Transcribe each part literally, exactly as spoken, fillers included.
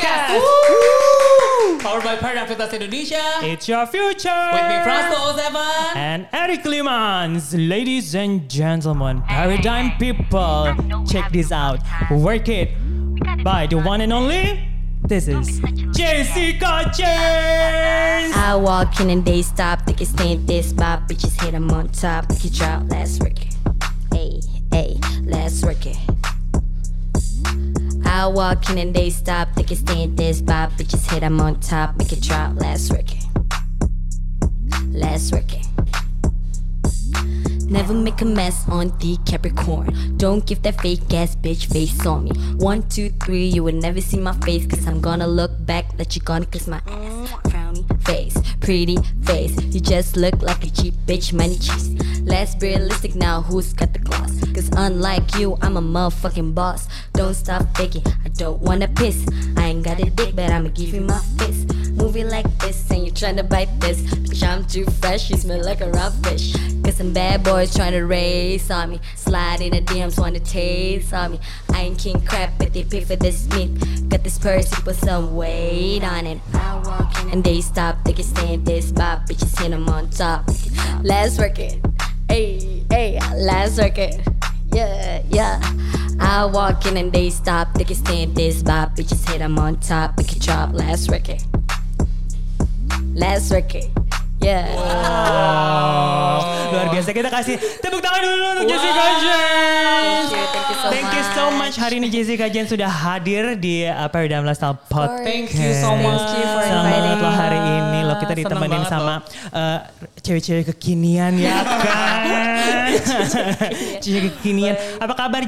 Podcast. Woo! Powered by Paradigm Fitness Indonesia. It's your future. With me, Franco Seven. And Eric Limans. Ladies and gentlemen, Paradigm people, check this out. Work It by the one and only. This is Jessica James. I walk in and they stop. Think it's stand this spot. Bitches hit them on top. Make it drop. Let's work it. Hey, hey, let's work it. I walk in and they stop. Think it's stand this spot. Bitches hit them on top. Make it drop. Let's work it. Let's work it. Never make a mess on the Capricorn. Don't give that fake ass bitch face on me. One, two, three, you will never see my face. Cause I'm gonna look back that you gonna kiss my ass. Frowny face, pretty face. You just look like a cheap bitch, money cheese. Let's be realistic now, who's got the gloss? Cause unlike you, I'm a motherfucking boss. Don't stop faking, I don't wanna piss. I ain't got a dick, but I'ma give you my fist. Moving like this, and you tryna bite this. Bitch, I'm too fresh, you smell like a raw fish. Cause some bad boys tryna race on me. Slide in the D Ms, wanna taste on me. I ain't king crap, but they pay for this meat. Got this purse, you put some weight on it. I walk in and they stop, they can stand this spot. Bitches hit them on top. Let's work it. Hey, hey, let's work it. Yeah, yeah. I walk in and they stop, they can stand this spot. Bitches hit them on top, we can drop. Let's work it. Let's work it. Yeah. Wow. Luar biasa, kita kasih tepuk tangan dulu untuk wow. Jessica James. Thank you, thank you so Thank much. you so much. Hari ini Jessica James sudah hadir di uh, Paradigm Lifestyle Podcast. Thank you so much. Thank you for Senang inviting banget loh me. hari ini loh kita ditemenin sama uh, cewek-cewek kekinian ya kan. Cewek kekinian. Apa kabar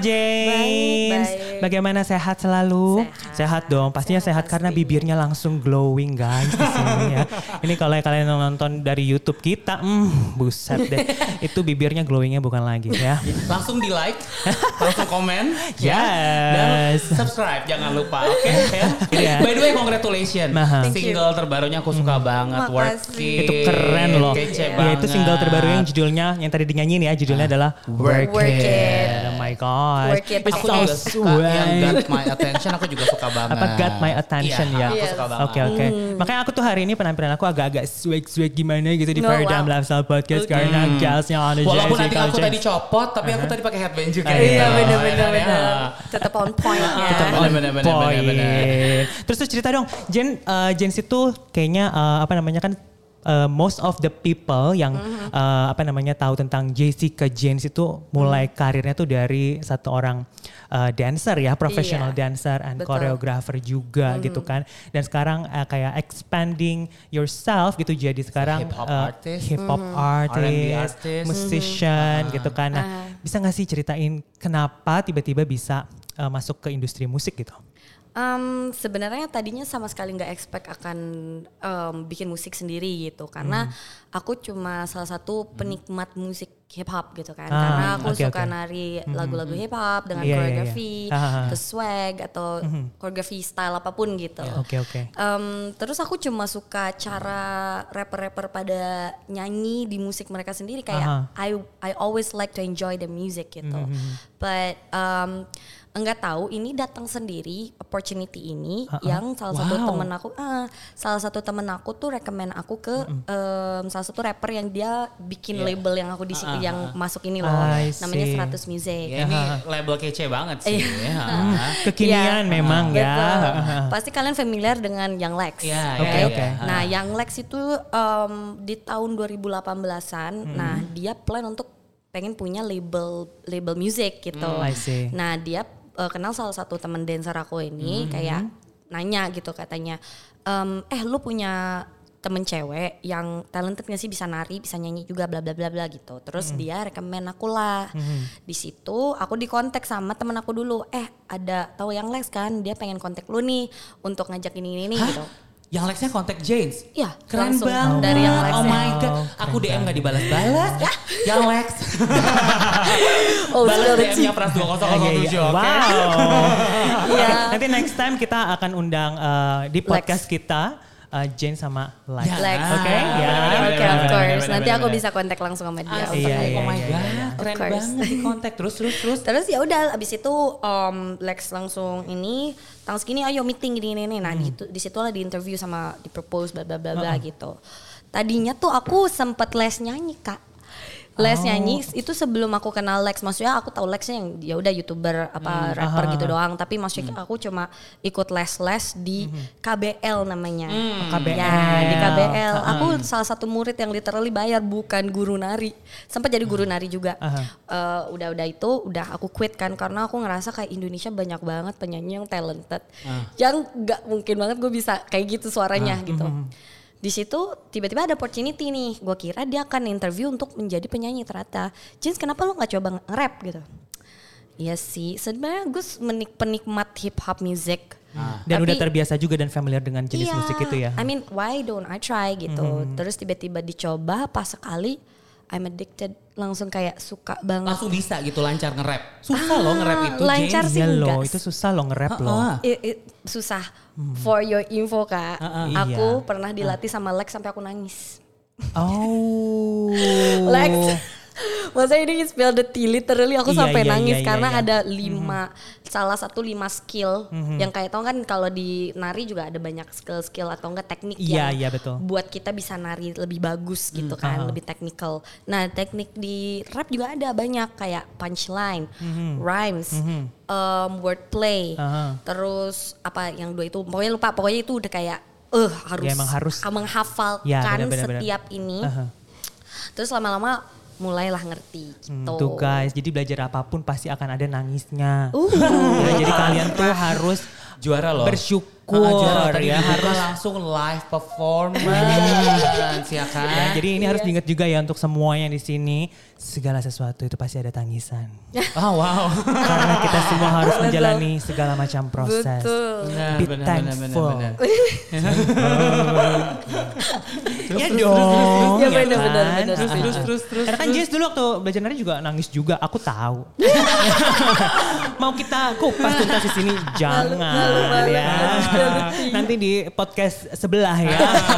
James? Baik, baik. Bagaimana, sehat selalu? Sehat. Sehat dong. Pastinya sehat, Sehat karena pasti. bibirnya langsung glowing guys di sini ya. Ini kalau kalian nonton dari YouTube kita, hmm, buset deh. Itu bibirnya glowingnya bukan lagi ya. Langsung di like, langsung komen, Yes. dan subscribe jangan lupa, oke? Okay? Yeah. By the way, congratulations, Mahal. single terbarunya aku suka banget, Work Makasih. It. Itu keren loh. Kece Ya, banget. itu single terbaru yang judulnya yang tadi dinyanyiin ya, judulnya adalah Work, Work It. It. Oh my god. Work It. It's Aku so juga suka yang sweet. Got My Attention, aku juga suka banget. Apa got my attention Iya, ya? aku Yes. suka banget. Oke oke. Makanya aku tuh hari ini penampilan aku agak-agak swag-swag gimana gitu di No, Paradigm wow. Lifestyle Podcast Okay. karena gasnya ada Walaupun nanti Jessica aku James. tadi copot, tapi aku tadi pakai headband juga. Iya, Iya gitu. bener-bener. Ya. bener. Tetap on pointnya. Tetap on bener, bener, Point. bener, bener. Terus tuh cerita dong, Jen, uh, Jens itu kayaknya uh, apa namanya kan uh, most of the people yang Mm-hmm. uh, apa namanya tahu tentang Jessica James itu mulai Mm. karirnya tuh dari satu orang uh, dancer ya, professional Iya, dancer and betul. choreographer juga Mm. gitu kan. Dan sekarang uh, kayak expanding yourself gitu jadi sekarang Hip-hop uh, artist. hip-hop Mm-hmm. artist, R and B artist. musician Mhm. gitu kan. Nah, Ah. bisa gak sih ceritain kenapa tiba-tiba bisa uh, masuk ke industri musik gitu? Um, sebenarnya tadinya sama sekali nggak expect akan um, bikin musik sendiri gitu karena aku cuma salah satu penikmat musik hip hop gitu kan, Ah, karena aku oke, suka oke. nari lagu-lagu hip hop dengan Iya, iya, iya. koreografi, Ah, ah, ah. terus swag atau koreografi style apapun gitu. Oke oke. Um, terus aku cuma suka cara rapper-rapper pada nyanyi di musik mereka sendiri kayak Aha. I I always like to enjoy the music gitu. But um, enggak tahu ini datang sendiri opportunity ini Uh-uh. yang salah satu Wow. temen aku ah, salah satu temen aku tuh rekomend aku ke um, salah satu rapper yang dia bikin Yeah. label yang aku di Uh-uh. yang masuk ini loh, I namanya see. seratus Music. Ya, ini label kece banget sih. Iya. ya. Kekinian Iya, memang ya. betul. Pasti kalian familiar dengan Young Lex. Iya, oke? iya, oke. Nah, Young Lex itu um, di tahun dua ribu delapan belasan, nah dia plan untuk pengen punya label label music gitu. I see. Nah, dia uh, kenal salah satu teman dancer aku ini kayak nanya gitu katanya, ehm, eh lu punya temen cewek yang talented gak sih, bisa nari, bisa nyanyi juga, bla bla bla bla gitu. Terus Hmm. dia rekomen aku lah. Di situ aku dikontak sama temen aku dulu. Eh ada tahu yang Lex kan? Dia pengen kontak lu nih untuk ngajak ini ini, ini gitu. Yang Lexnya kontak James. Iya, Keren langsung banget. dari yang Lex. Oh ya. my god. Aku D M gak dibalas-balas. Yang Lex. Oh, Balas still D the M-nya Pras dua nol nol Iya, tujuh. iya. Oke. Wow. Iya. Nanti next time kita akan undang uh, di podcast kita uh, Jane sama Lex. Ya. Lex. Oke, okay? ya. Oke, of course. Nanti aku bisa kontak langsung sama dia. Ah, untuk iya, ngomong. iya, oh my iya, god, iya. keren Of course. banget di kontak. Terus terus terus. Terus ya udah abis itu um, Lex langsung ini tanggal segini ayo meeting gini ini. Nah, di di situ lah di interview sama di propose bla bla bla bla gitu. Tadinya tuh aku sempet les nyanyi, Kak. Les Oh. nyanyi itu sebelum aku kenal Lex. Maksudnya aku tahu Lexnya yang ya udah YouTuber apa rapper aha, gitu aha. doang, tapi maksudnya aku cuma ikut les-les di K B L namanya. K B L. Ya, di K B L. Ah, Aku salah satu murid yang literally bayar, bukan guru nari. Sempat jadi guru nari juga. Aha. Eh, udah-udah itu udah aku quit kan karena aku ngerasa kayak Indonesia banyak banget penyanyi yang talented. Yang nggak mungkin banget gue bisa kayak gitu suaranya gitu. Di situ tiba-tiba ada opportunity nih. Gue kira dia akan interview untuk menjadi penyanyi, ternyata Jens kenapa lo nggak coba nge-rap gitu? Iya sih, sebenarnya gue menik penikmat hip hop music. Dan Tapi- udah terbiasa juga dan familiar dengan jenis Iya, musik itu ya. I mean, why don't I try gitu. Terus tiba-tiba dicoba pas sekali I'm addicted, langsung kayak suka banget. Langsung bisa gitu lancar nge-rap. Susah loh nge-rap itu, lancar Jane. sih Iya loh, enggak. itu susah loh nge-rap loh. Ah, I- i- susah. For your info Kak, Uh-uh. aku Iya. pernah dilatih sama Lex sampai aku nangis. Oh. Lex, masa ini spill the tea, literally aku Iya, sampai iya, nangis iya, iya, karena iya. ada lima, salah satu lima skill yang kayak tau kan kalau di nari juga ada banyak skill-skill atau enggak teknik Iya, yang iya, betul. buat kita bisa nari lebih bagus gitu kan, aha. lebih technical. Nah teknik di rap juga ada banyak kayak punchline, rhymes, um, wordplay, Aha. terus apa yang dua itu, pokoknya lupa, pokoknya itu udah kayak eh harus, Ya, emang harus. menghafalkan Ya, benar, benar, benar. setiap ini. Aha. Terus lama-lama mulailah ngerti Hmm, gitu. tuh guys, jadi belajar apapun pasti akan ada nangisnya. Uh. Ya, jadi kalian tuh harus Juara loh. bersyukur Ah, juara tadi ya, dibuka harus. langsung live performance ya kan. Ya, jadi ini harus diingat juga ya untuk semuanya di sini, segala sesuatu itu pasti ada tangisan. Oh wow. Karena kita semua harus menjalani segala macam proses. Betul. Benar, Be benar, thankful. benar, Ya dong. Ya, ya benar, kan? benar, benar. Terus, terus, terus, terus, Karena kan Jess dulu waktu belajar nari juga nangis juga, aku tahu. Mau kita kupas tuntas di sini jangan ya. Nanti di podcast sebelah ya.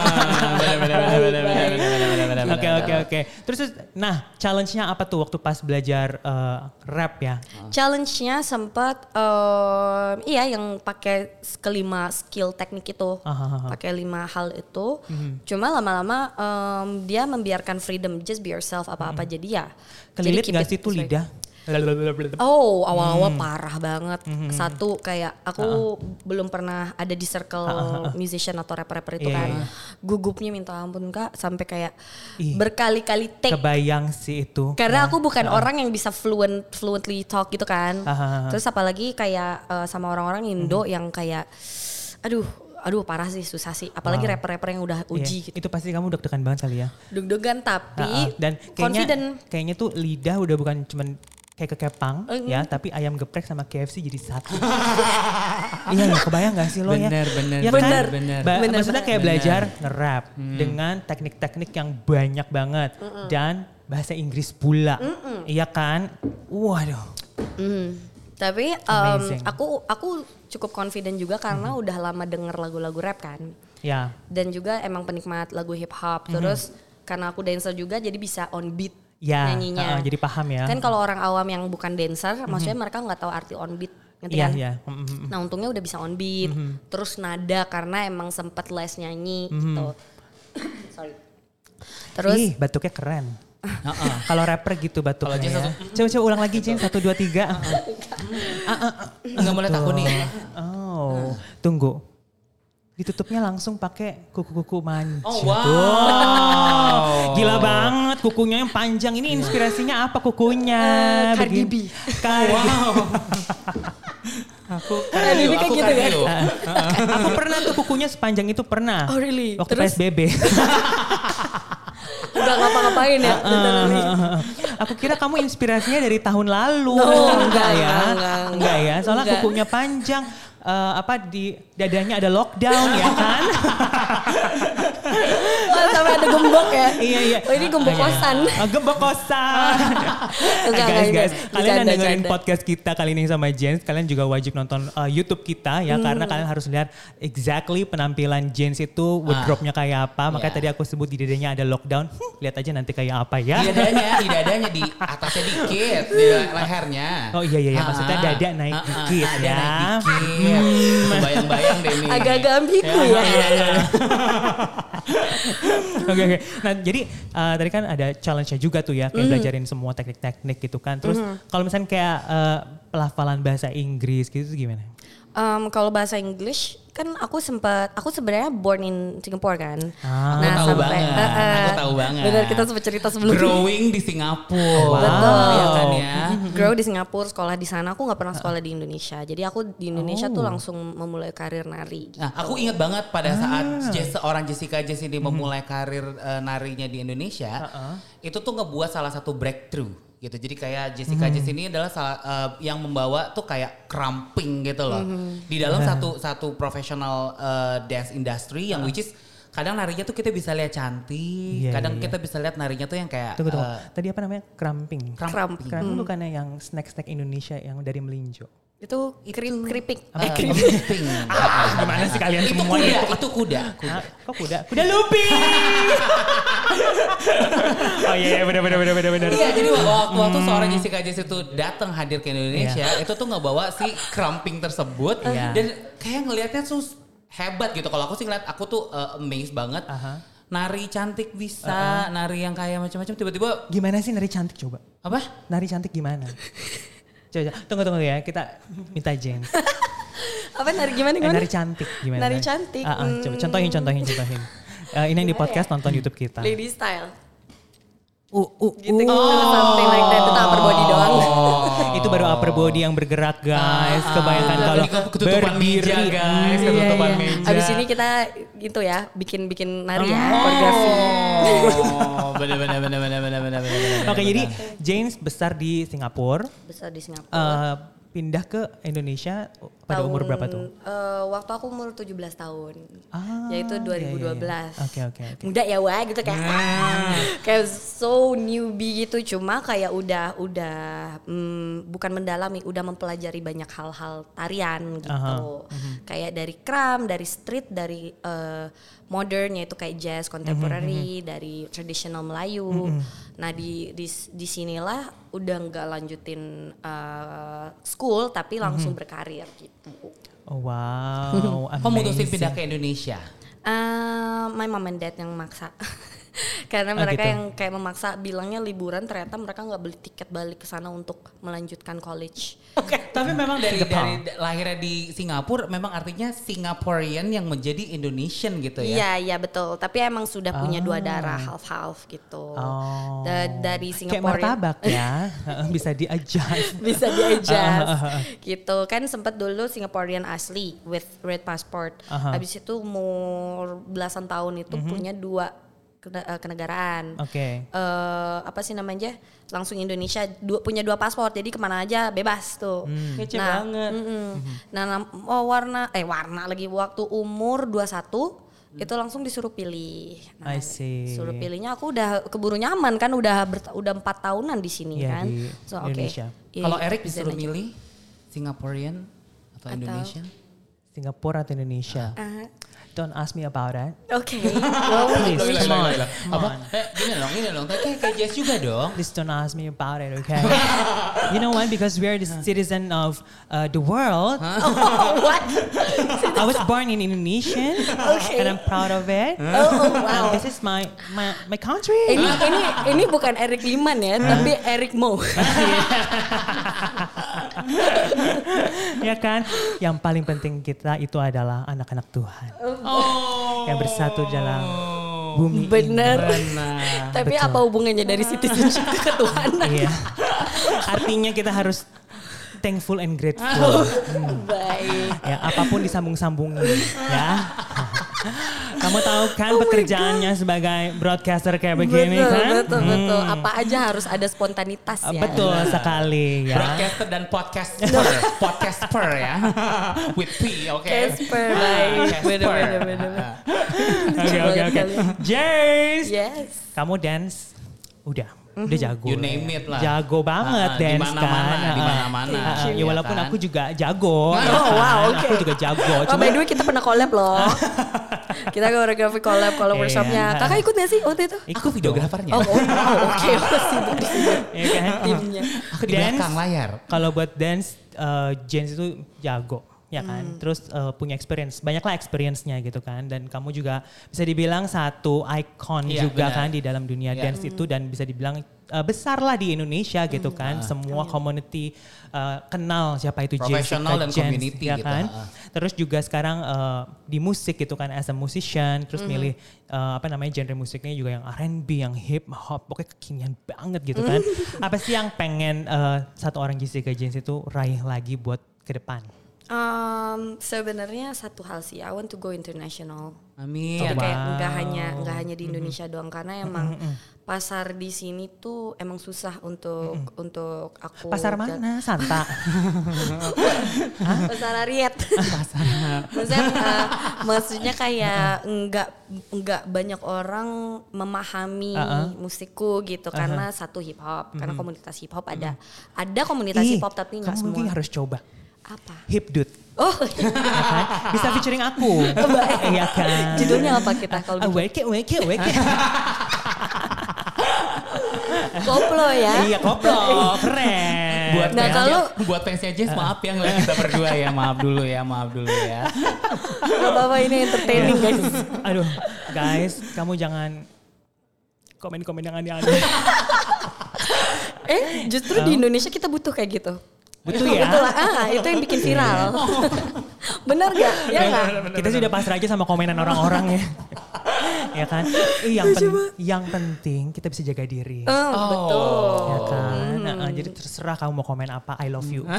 Oke oke oke. Terus terus, nah challenge-nya apa tuh waktu pas belajar eh, rap ya? Challenge-nya sempat em, iya yang pakai kelima skill teknik itu, Aha. pakai lima hal itu. Cuma lama-lama em, dia membiarkan freedom, just be yourself apa-apa jadi ya. Kelilit jadi keep gak it sih tuh straight. lidah? Oh awal-awal parah banget. Satu kayak aku Uh-uh. belum pernah ada di circle musician atau rapper-rapper itu Iya, kan. iya. Gugupnya minta ampun Kak sampai kayak Ih, berkali-kali take. Kebayang sih itu. Karena aku bukan orang yang bisa fluent fluently talk gitu kan. Aha. Terus apalagi kayak eh, sama orang-orang Indo yang kayak aduh aduh parah sih, susah sih. Apalagi Wow. rapper-rapper yang udah Iya, uji gitu. itu pasti kamu deg-degan banget kali ya. Deg-degan tapi Ha-ha. Dan kayaknya confident. kayaknya tuh lidah udah bukan cuman kayak kekepang Mm-mm. ya, tapi ayam geprek sama K F C jadi satu. Iya, ya, kebayang gak sih lo ya? Bener, bener, Ya bener, kan? bener. Ba- Bener, maksudnya bener. kayak Bener. belajar nge-rap dengan teknik-teknik yang banyak banget dan bahasa Inggris pula. Iya kan? Waduh. Mm. Tapi em, Amazing. aku aku cukup confident juga karena udah lama denger lagu-lagu rap kan. Ya. Dan juga emang penikmat lagu hip hop. Terus karena aku dancer juga jadi bisa on beat Ya, nyanyinya. uh-uh, jadi paham ya. Kan kalau orang awam yang bukan dancer, maksudnya mereka nggak tahu arti on beat, ngerti Iya, kan? iya. Mm-mm. Nah untungnya udah bisa on beat, terus nada karena emang sempet les nyanyi gitu. Sorry. Terus Ih, batuknya keren. Heeh. Kalau rapper gitu Kalau batuknya Jess ya. satu- Coba coba ulang lagi Jin, satu dua tiga. Enggak boleh takut nih. Oh, tunggu. Ditutupnya langsung pakai kuku-kuku manja. Oh, wow. Tuh. Gila banget kukunya yang panjang. Ini inspirasinya apa kukunya? Eh, Cardi B. Begini. Cardi B. Aku Cardi B kayak aku gitu kan? cardio. Aku pernah tuh kukunya sepanjang itu pernah. Oh, really? Waktu Terus? P S B B. udah ngapa-ngapain ya? literally. Aku kira kamu inspirasinya dari tahun lalu. No, enggak ya? enggak, enggak, Enggak ya? Soalnya enggak. kukunya panjang. Eh, apa di dadanya ada lockdown ya kan? Oh, sampai ada ada gembok ya. Iya iya. Oh ini gembok kosan. Oh, gembok kosan. Enggak, guys enggak, guys, enggak. kalian yang Bercanda, dengerin bercanda. podcast kita kali ini sama Jens, kalian juga wajib nonton uh, YouTube kita ya, karena kalian harus lihat exactly penampilan Jens itu wardrobe-nya kayak apa. Makanya Iya. tadi aku sebut di dadanya ada lockdown. Hmm, lihat aja nanti kayak apa ya. Di dadanya, di dadanya di atasnya dikit, di lehernya. Oh iya iya, iya. maksudnya Ah, dada naik ah, ah, dikit dada ya. naik dikit. Bayang-bayang deh nih. Agak-agak ambigu ya. Iya, iya, iya. Oke oke. Nah jadi uh, tadi kan ada challenge-nya juga tuh ya, kayak belajarin semua teknik-teknik gitu kan. Terus kalau misalnya kayak uh, pelafalan bahasa Inggris gitu tuh gimana? Um, kalau bahasa English kan aku sempat, aku sebenarnya born in Singapore kan. Ah. Aku tahu banget, eh, eh, aku tahu banget. Benar, kita sempat cerita sebelumnya. Growing di Singapura. Betul. Ya kan ya. Grow di Singapura, sekolah di sana. Aku nggak pernah sekolah di Indonesia. Jadi aku di Indonesia Oh. tuh langsung memulai karir nari. Gitu. Nah, aku ingat banget pada saat Jess, seorang Jessica Jess ini memulai karir eh, narinya di Indonesia, itu tuh ngebuat salah satu breakthrough gitu. Jadi kayak Jessica Jess ini adalah salah, eh, yang membawa tuh kayak cramping gitu loh. Di dalam satu satu professional eh, dance industry yang which is kadang narinya tuh kita bisa lihat cantik, Iya, kadang iya, kita bisa lihat narinya tuh yang kayak Tunggu tunggu. eh, Tadi apa namanya? Cramping. cramping. Cramping bukannya yang snack-snack Indonesia yang dari melinjo. Itu kri- keripik. Eh, Eh, keripik. cramping. Gimana sih kalian Itu semua kuda, itu? itu kuda. kuda. Hah? Kok kuda? Kuda lumping. Oh iya iya benar benar benar benar benar. Iya, jadi waktu, waktu seorang Jessica Jess itu datang hadir ke Indonesia, itu tuh ngebawa si cramping tersebut Iya. dan kayak ngelihatnya tuh hebat gitu. Kalau aku sih ngeliat, aku tuh uh, amazed banget. Aha. Nari cantik bisa, nari yang kayak macam-macam tiba-tiba Gimana sih nari cantik coba? apa? Nari cantik gimana? Coba, coba. tunggu tunggu ya, kita minta Jen. Apa nari gimana Eh, gimana? nari cantik gimana? Nari cantik, Ah, ah, coba hmm. contohin contohin contohin. Eh, ini yang di podcast nonton YouTube kita. Lady style. Uh, uh, Gitu gitu something like that. Itu upper body doang. Itu baru upper body yang bergerak guys. Kebayangkan Ah, kalau ini ketutupan meja, berdiri. guys, Hmm, ketutupan iya, iya. meja. Abis ini kita gitu ya, bikin-bikin nari ya, koreografi. Oh, benar benar benar benar benar benar benar. Oke, jadi James besar di Singapura, Besar di Singapura. eh, pindah ke Indonesia pada umur berapa tuh? Eh, waktu aku umur tujuh belas tahun. Ah, Yaitu iya, dua ribu dua iya, belas. iya. Oke, oke, oke. Muda ya wah gitu kayak ah, kayak so newbie gitu, cuma kayak udah udah mm, bukan mendalami, udah mempelajari banyak hal-hal tarian gitu. Aha, Kayak dari kram, dari street, dari eh, modern yaitu kayak jazz, contemporary, dari traditional Melayu. Nah, di di di sinilah udah nggak lanjutin eh, school tapi langsung berkarir gitu. Oh, wow, Kok mutusin amazing. pindah ke Indonesia? Uh, my mom and dad yang maksa. Karena Oh, mereka gitu. yang kayak memaksa bilangnya liburan, ternyata mereka nggak beli tiket balik ke sana untuk melanjutkan college. Oke, tapi memang dari Jepang. dari lahirnya di Singapura memang artinya Singaporean yang menjadi Indonesian gitu ya. Iya, iya betul. Tapi emang sudah punya dua darah half-half gitu. Oh. Da- dari Kayak Singapore martabak ya, bisa di-adjust. bisa di-adjust gitu kan. Sempet dulu Singaporean asli with red passport. Aha. Habis itu umur belasan tahun itu punya dua kene- eh, kenegaraan. Oke. eh apa sih namanya, langsung Indonesia, dua, punya dua paspor, jadi kemana aja bebas tuh. Kece Nah, banget. mm-mm. Nah, nam- oh, warna eh warna lagi waktu umur dua puluh satu itu langsung disuruh pilih. Nah, I see. Suruh pilihnya aku udah keburu nyaman kan, udah ber, udah empat tahunan di sini Iya, kan. di So oke. Indonesia. Iya, Kalau Eric bisa disuruh aja. milih Singaporean atau, Atau- Indonesian? Singapura atau Indonesia? Ah, Don't ask me about that. Oke. Well, Please, we- come on. Apa? Eh, gini dong, gini dong. Kayak kayak Jess juga dong. Please don't ask me about it, okay? You know what? Because we are the citizen of uh, the world. Oh, what? I was born in Indonesia, Okay. and I'm proud of it. Oh, oh, And wow. this is my my my country. Ini ini ini bukan Eric Liman ya, tapi Eric Mo. Ya kan? Yang paling penting kita itu adalah anak-anak Tuhan Oh. yang bersatu dalam bumi Bener. Benar. Tapi Betul. apa hubungannya dari citizenship ke ketuhanan? ini. Iya. Artinya kita harus thankful and grateful. Baik. Ya, apapun disambung-sambungin ya. Kamu tahu kan oh pekerjaannya sebagai broadcaster kayak begini betul, kan? Betul, hmm. betul. Apa aja harus ada spontanitas ya. Betul sekali ya. Broadcaster dan podcaster, podcaster ya. With P, oke. Okay. Casper, baik. Bener-bener. Oke, oke, oke. Jace, yes. kamu dance udah. Udah jago. You name it lah. Jago banget uh, dance dimana-mana, kan. Di mana-mana. Uh, uh, ya walaupun kan? aku juga jago. Oh wow, oke. Okay. Aku juga jago. Oh, by the way kita pernah collab loh. Kita koreografi collab kalau workshopnya. Kakak ikut gak sih waktu itu? Aku videografernya. Oh, oh, oh oke. Okay. Sibuk di sini. Iya kan? Timnya. Aku di belakang layar. Kalau buat dance, uh, Jens itu jago. Ya kan, hmm. terus uh, punya experience, banyaklah experience-nya gitu kan, dan kamu juga bisa dibilang satu icon ya, juga benar. Kan di dalam dunia ya. Dance hmm. itu, dan bisa dibilang uh, besar lah di Indonesia gitu hmm. kan, ah. semua Amin. Community uh, kenal siapa itu Professional dan Jens, community ya gitu. kan, ah. terus juga sekarang uh, di musik gitu kan, as a musician, terus hmm. milih uh, apa namanya genre musiknya juga yang R and B, yang hip hop, pokoknya kekinian banget gitu kan. Apa sih yang pengen uh, satu orang Jessica Jens itu raih lagi buat ke depan? Um, sebenarnya satu hal sih, I want to go international. Amin. Gitu, wow. Kayak nggak hanya nggak hanya di Indonesia mm-hmm. doang, karena emang mm-hmm. pasar di sini tuh emang susah untuk mm-hmm. untuk aku. Pasar mana? Santa. Pasar Ariet. Pasar. maksudnya, uh, maksudnya kayak nggak nggak banyak orang memahami uh-uh. musikku gitu uh-huh. karena satu hip hop, mm-hmm. karena komunitas hip hop ada mm-hmm. ada komunitas hip hop tapi nggak semua. Kamu mungkin harus coba. Apa? Hipdut. Oh, ya kan? Bisa featuring aku. Iya kan. Judulnya apa kita kalau gitu? Wake it, wake it, wake it. Koplo ya? Iya koplo, keren. Buat nah fansnya, kalau buat fansnya Jess maaf ya ngeliat kita berdua ya, maaf dulu ya, maaf dulu ya. Gak apa-apa, ini entertaining guys. Aduh, guys, kamu jangan komen-komen yang aneh-aneh. eh, justru oh. di Indonesia kita butuh kayak gitu. Betul ya? Betul lah, ah, itu yang bikin viral. Benar gak? Ya gak? Kita sudah pasrah aja sama komenan orang-orang ya. Ya kan? Eh, yang, pen, yang penting kita bisa jaga diri. Oh, oh. Betul. Ya kan? Hmm. Nah, jadi terserah kamu mau komen apa, I love you.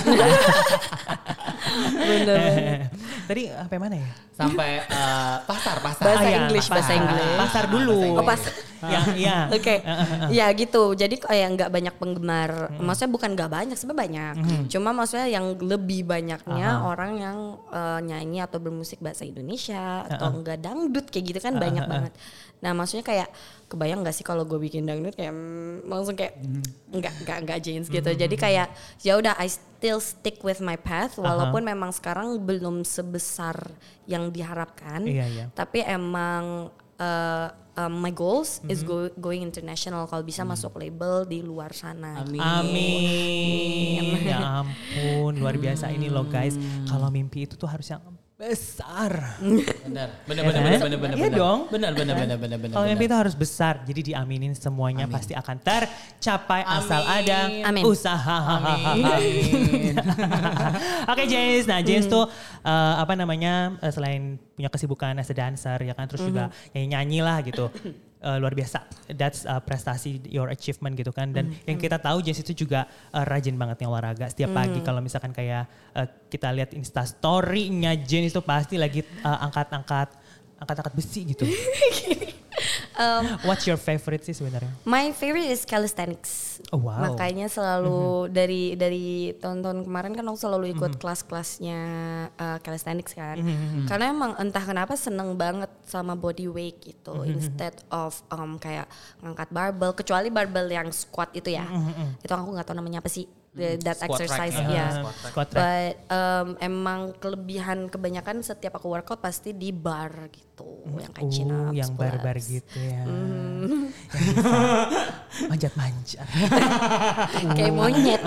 Bener. Tadi sampai mana ya? Sampai uh, pasar, pasar. Bahasa ah, ya, English, pasar. bahasa English. Pasar dulu. Oh, pasar. Ya, ya. Oke. Okay. Ya gitu. Jadi kayak nggak banyak penggemar. Hmm. Maksudnya bukan nggak banyak, sebenarnya banyak. Hmm. Cuma maksudnya yang lebih banyaknya uh-huh. orang yang uh, nyanyi atau bermusik bahasa Indonesia uh-huh. atau enggak dangdut kayak gitu kan uh-huh. banyak banget. Nah, maksudnya kayak kebayang nggak sih kalau gue bikin dangdut kayak mm, langsung kayak mm. nggak nggak nggak jeans gitu. Mm. Jadi kayak ya udah I still stick with my path walaupun uh-huh. memang sekarang belum sebesar yang diharapkan. Iya, iya. Tapi emang uh, um, my goals mm-hmm. is go, going international, kalau bisa mm. masuk label di luar sana. Amin. Amin. Ya ampun, luar biasa ini loh guys. Kalau mimpi itu tuh harus yang besar. Benar, benar, benar, benar, benar, benar. Iya dong. Benar, benar, benar, benar, benar. Kalau mimpi itu harus besar, jadi diaminin semuanya. Amin. Pasti akan tercapai. Amin. Asal ada Amin. usaha. Amin. Oke, Jace. Nah, Jace hmm. tuh uh, apa namanya uh, selain punya kesibukan as a dancer ya kan, terus hmm. juga nyanyi-nyanyi lah gitu. Uh, luar biasa, that's uh, prestasi, your achievement gitu kan. Dan mm. yang kita tahu Jess itu juga uh, rajin banget nih olahraga. Setiap mm. pagi kalau misalkan kayak uh, kita lihat Insta story-nya Jen itu pasti lagi uh, angkat-angkat angkat-angkat besi gitu. um, What's your favorite sih sebenarnya? My favorite is calisthenics. Oh, wow. Makanya selalu mm-hmm. dari dari tahun-tahun kemarin kan aku selalu ikut mm-hmm. kelas-kelasnya uh, calisthenics kan. Mm-hmm. Karena emang entah kenapa seneng banget sama body weight gitu. Mm-hmm. Instead of um, kayak ngangkat barbell, kecuali barbell yang squat itu ya. Mm-hmm. Itu aku nggak tahu namanya apa sih. The, that squat exercise ya, yeah. uh, squat but um, emang kelebihan kebanyakan setiap aku workout pasti di bar gitu, mm. yang kayak chin ups, yang bar-bar gitu ya, mm. manjat-manjat, kayak monyet.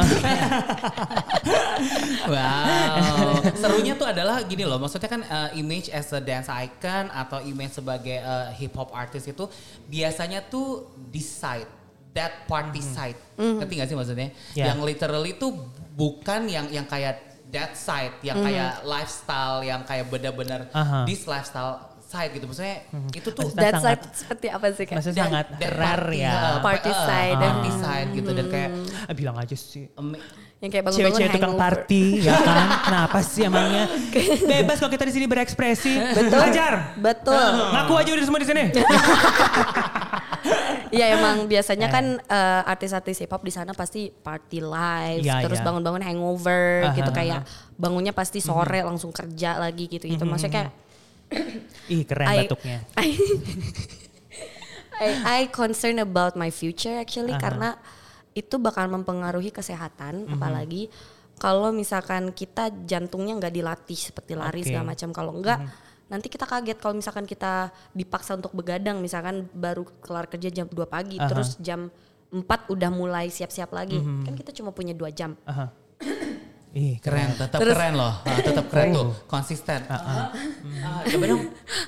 Wow, serunya tuh adalah gini loh, maksudnya kan uh, image as a dance icon atau image sebagai uh, hip hop artist itu biasanya tuh decide that party mm. side, mm. ngerti gak sih maksudnya? Yeah. Yang literally itu bukan yang yang kayak that side, yang mm. kayak lifestyle, yang kayak benar-benar uh-huh. this lifestyle side gitu. Maksudnya hmm. itu tuh that side seperti apa sih Kak? Maksudnya sangat rare ya. Party uh, side. Uh, party side gitu dan kayak uh, bilang aja sih. Um, yang kayak bangun-bangun cewek-cewek tukang party ya kan. Kenapa sih emangnya? Bebas kalau kita di sini berekspresi. Betul. Ajar. Betul. Uh, ngaku aja udah semua di sini. Iya emang biasanya kan uh, artis-artis hip hop di sana pasti party live, ya, terus ya. bangun-bangun hangover uh-huh. gitu kayak bangunnya pasti sore mm-hmm. langsung kerja lagi gitu gitu. Maksudnya kayak ih keren I, batuknya. I, I, I concern about my future actually uh-huh. karena itu bakal mempengaruhi kesehatan mm-hmm. apalagi kalau misalkan kita jantungnya nggak dilatih seperti lari okay. segala macam, kalau enggak mm-hmm. nanti kita kaget kalau misalkan kita dipaksa untuk begadang, misalkan baru kelar kerja jam dua pagi uh-huh. terus jam empat udah mulai siap-siap lagi. Mm-hmm. Kan kita cuma punya dua jam. Uh-huh. Ih, keren, tetap terus, keren loh. Uh, tetap keren tuh, konsisten. Uh-huh. Uh, coba dong.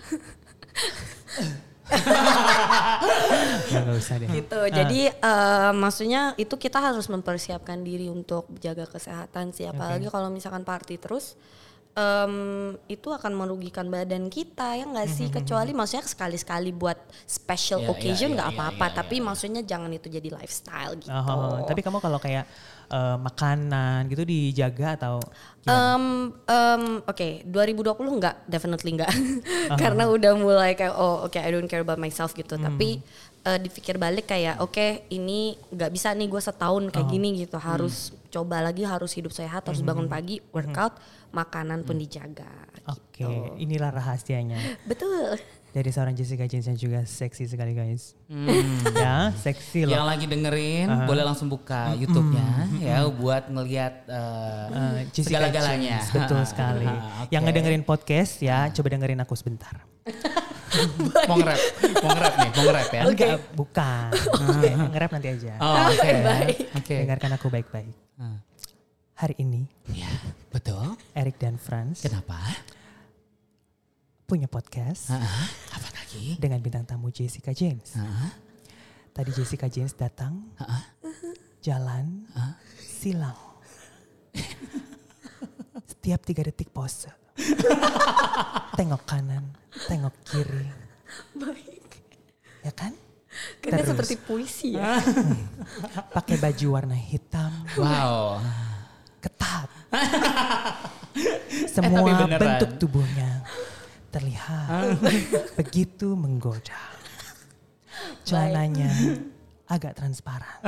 Ya, gak usah deh. Gitu. Uh. Jadi uh, maksudnya itu kita harus mempersiapkan diri untuk jaga kesehatan sih, apalagi okay. kalau misalkan party terus. Um, itu akan merugikan badan kita ya nggak sih, kecuali maksudnya sekali-sekali buat special yeah, occasion nggak yeah, yeah, yeah, apa-apa yeah, tapi yeah. maksudnya jangan itu jadi lifestyle gitu. Oh, tapi kamu kalau kayak uh, makanan gitu dijaga atau um, um, oke okay, dua ribu dua puluh nggak, definitely nggak uh-huh. karena udah mulai kayak oh oke okay, I don't care about myself gitu. hmm. Tapi uh, dipikir balik kayak oke okay, ini nggak bisa nih gue setahun kayak uh-huh. gini gitu, harus hmm. coba lagi, harus hidup sehat, harus bangun pagi, workout, makanan pun dijaga. Oke, okay. gitu. Inilah rahasianya. Betul. Dari seorang Jessica James yang juga seksi sekali guys. Hmm. Ya, seksi loh. Yang lagi dengerin uh-huh. boleh langsung buka mm-hmm. YouTube-nya mm-hmm. ya buat ngelihat uh, uh, segala-galanya. Betul sekali. Okay. Yang ngedengerin podcast ya, coba dengerin aku sebentar. mau nge-rap, mau nge-rap nih, mau nge-rap ya? Enggak, okay. bukan. Okay. Nge-rap nanti aja. Oh, oke. Okay. Okay. Dengarkan aku baik-baik. Uh. Hari ini, ya betul. Eric dan Franz. Kenapa? Punya podcast. Uh-huh. Apa lagi? Dengan bintang tamu Jessica James. Uh-huh. Tadi Jessica James datang, uh-huh. jalan, uh-huh. silang. Setiap tiga detik pose. Tengok kanan, tengok kiri. Baik. Ya kan? Karena seperti puisi ya. Pakai baju warna hitam. Wow. Ketat. Semua eh, bentuk tubuhnya terlihat begitu menggoda. Celananya agak transparan.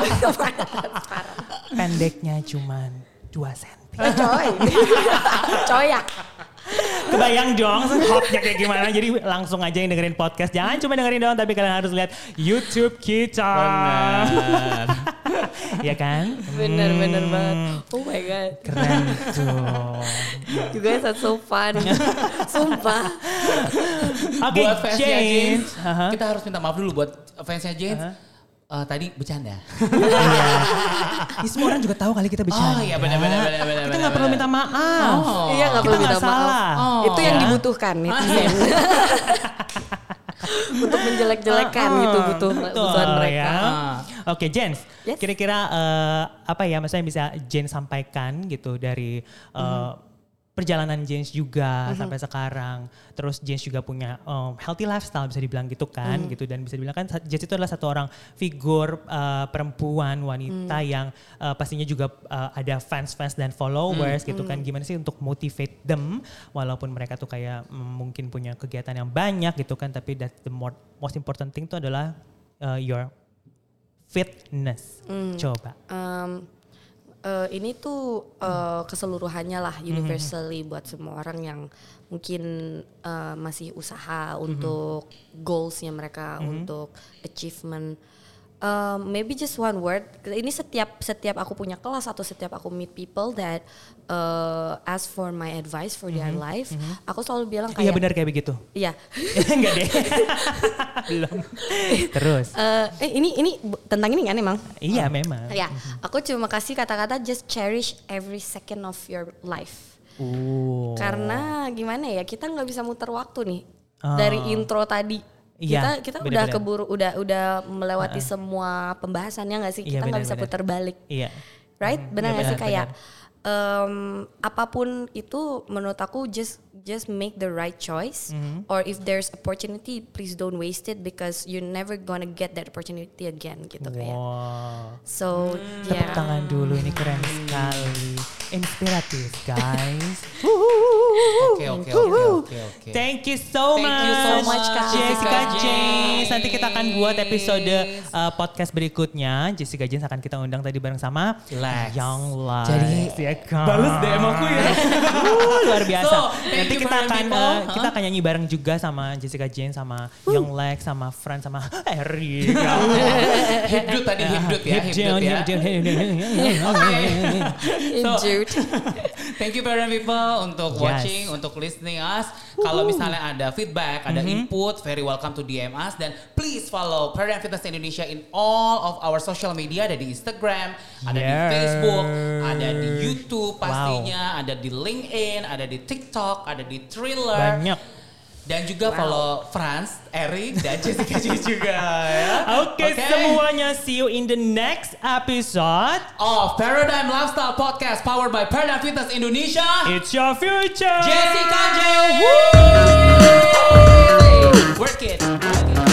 Pendeknya cuman dua senti. Coy. Coy ya. Kebayang dong hotnya kayak gimana. Jadi langsung aja yang dengerin podcast. Jangan cuma dengerin doang, tapi kalian harus lihat YouTube kita. Benar. Ya kan? Bener-bener hmm. banget. Oh my god. Keren tuh. You guys are so fun. Sumpah. Oke, okay, buat fansnya James. James uh-huh. kita harus minta maaf dulu buat fansnya James. Uh-huh. Uh, tadi bercanda. Iya. Ya, semua orang juga tahu kali kita bercanda. Oh iya benar-benar. Kita nggak perlu minta maaf. Oh. Iya nggak perlu minta maaf. Oh. Itu yang dibutuhkan netizen. Untuk menjelek-jelekan oh. gitu butuh kebutuhan mereka. Ya. Oke, okay, Jens. Yes. Kira-kira uh, apa ya maksudnya bisa Jens sampaikan gitu dari uh, mm. perjalanan Jens juga mm-hmm. sampai sekarang. Terus Jens juga punya um, healthy lifestyle bisa dibilang gitu kan mm. gitu, dan bisa dibilang kan Jens itu adalah satu orang figur uh, perempuan wanita mm. yang uh, pastinya juga uh, ada fans-fans dan followers mm. gitu kan. Gimana sih untuk motivate them walaupun mereka tuh kayak mm, mungkin punya kegiatan yang banyak gitu kan, tapi that the more, most important thing itu adalah uh, your fitness. Mm. Coba. Um, Uh, ini tuh uh, keseluruhannya lah universally mm-hmm. buat semua orang yang mungkin uh, masih usaha mm-hmm. untuk goalsnya mereka, mm-hmm. untuk achievement. Uh, maybe just one word. Ini setiap setiap aku punya kelas atau setiap aku meet people that uh, ask for my advice for mm-hmm. their life, mm-hmm. aku selalu bilang kayak. Iya benar kayak begitu. Iya. Enggak deh. Belum. Terus. Uh, eh ini ini tentang ini kan emang. Iya memang. Ya, aku cuma kasih kata-kata just cherish every second of your life. Uh. Karena gimana ya, kita nggak bisa muter waktu nih uh. dari intro tadi. Iya, kita kita bener, udah bener. keburu udah udah melewati uh-uh. semua pembahasannya nggak sih, kita iya, nggak bisa bener. putar balik, iya. right? Benar nggak iya, sih kayak um, apapun itu menurut aku just just make the right choice. Mm-hmm. Or if there's opportunity, please don't waste it because you're never gonna get that opportunity again gitu wow. kayak. So hmm. yeah. Tepuk tangan dulu, ini keren sekali, inspiratif guys. Oke oke oke oke oke. Thank you so Thank much. you so much Jessica James. Nanti kita akan buat episode uh, podcast berikutnya. Jessica James akan kita undang tadi bareng sama Lex. Young Lex. Jadi ya kan. balas D M aku ya. uh, luar biasa. So, nanti kita akan uh, kita akan nyanyi bareng juga sama Jessica James, sama uh. Young Lex, sama Fran, sama Eric. Hibdut tadi hibdut ya, hibdut ya. So, thank you Paradigm People untuk Yes. watching, untuk listening us. Kalau misalnya ada feedback, ada mm-hmm. input, very welcome to D M us. Dan please follow Paradigm Fitness Indonesia in all of our social media. Ada di Instagram, ada yeah. di Facebook, ada di YouTube pastinya, wow. ada di LinkedIn, ada di TikTok, ada di Thriller. Banyak. Dan juga wow. follow Franz, Eric, dan Jessica juga ya. Oke okay, okay. semuanya, see you in the next episode of Paradigm Lifestyle Podcast powered by Paradigm Fitness Indonesia. It's your future. Jessica J. Work it.